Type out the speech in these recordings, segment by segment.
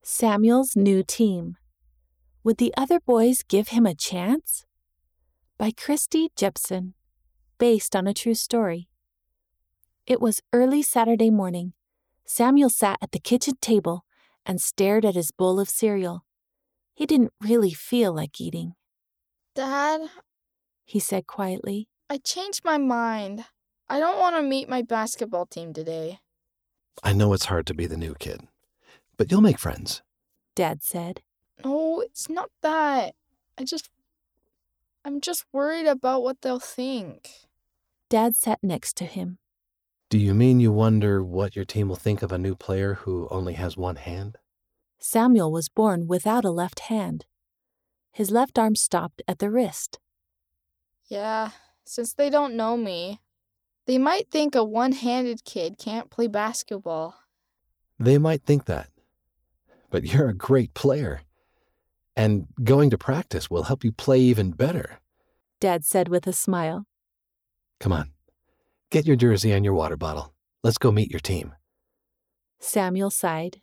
Samuel's new team. Would the other boys give him a chance? By Christy Jepson, based on a true story. It was early Saturday morning. Samuel sat at the kitchen table and stared at his bowl of cereal. He didn't really feel like eating. Dad, he said quietly. I changed my mind. I don't want to meet my basketball team today. I know it's hard to be the new kid, but you'll make friends, Dad said. No, it's not that. I'm just worried about what they'll think. Dad sat next to him. Do you mean you wonder what your team will think of a new player who only has one hand? Samuel was born without a left hand. His left arm stopped at the wrist. Yeah, since they don't know me, they might think a one-handed kid can't play basketball. They might think that, but you're a great player. And going to practice will help you play even better, Dad said with a smile. Come on, get your jersey and your water bottle. Let's go meet your team. Samuel sighed.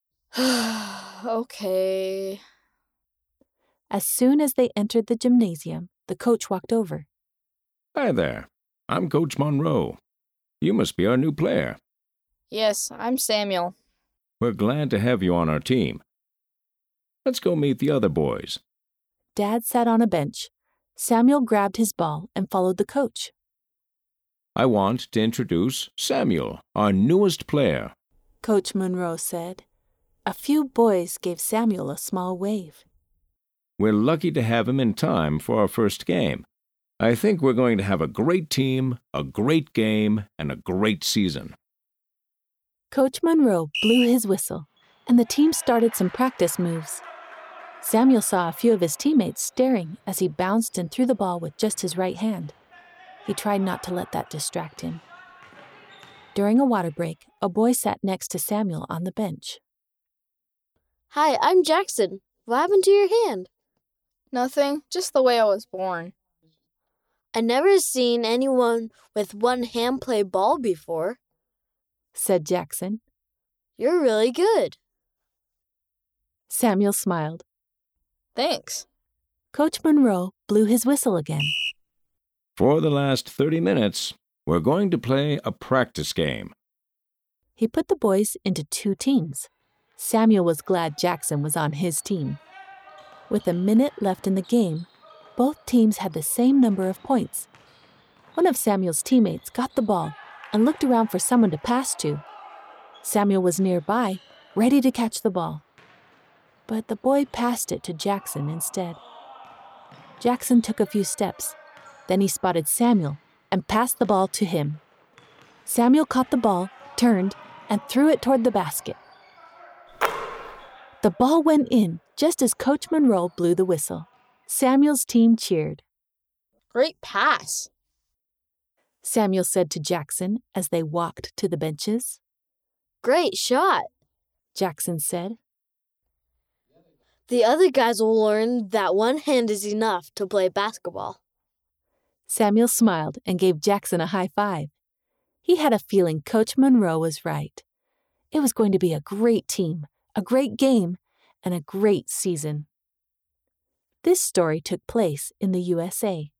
Okay. As soon as they entered the gymnasium, the coach walked over. Hi there. I'm Coach Monroe. You must be our new player. Yes, I'm Samuel. We're glad to have you on our team. Let's go meet the other boys. Dad sat on a bench. Samuel grabbed his ball and followed the coach. I want to introduce Samuel, our newest player, Coach Monroe said. A few boys gave Samuel a small wave. We're lucky to have him in time for our first game. I think we're going to have a great team, a great game, and a great season. Coach Monroe blew his whistle, and the team started some practice moves. Samuel saw a few of his teammates staring as he bounced and threw the ball with just his right hand. He tried not to let that distract him. During a water break, a boy sat next to Samuel on the bench. Hi, I'm Jackson. What happened to your hand? Nothing, just the way I was born. I never seen anyone with one hand play ball before, said Jackson. You're really good. Samuel smiled. Thanks. Coach Monroe blew his whistle again. For the last 30 minutes, we're going to play a practice game. He put the boys into two teams. Samuel was glad Jackson was on his team. With a minute left in the game, both teams had the same number of points. One of Samuel's teammates got the ball and looked around for someone to pass to. Samuel was nearby, ready to catch the ball. But the boy passed it to Jackson instead. Jackson took a few steps. Then he spotted Samuel and passed the ball to him. Samuel caught the ball, turned, and threw it toward the basket. The ball went in just as Coach Monroe blew the whistle. Samuel's team cheered. Great pass, Samuel said to Jackson as they walked to the benches. Great shot, Jackson said. The other guys will learn that one hand is enough to play basketball. Samuel smiled and gave Jackson a high five. He had a feeling Coach Monroe was right. It was going to be a great team, a great game, and a great season. This story took place in the USA.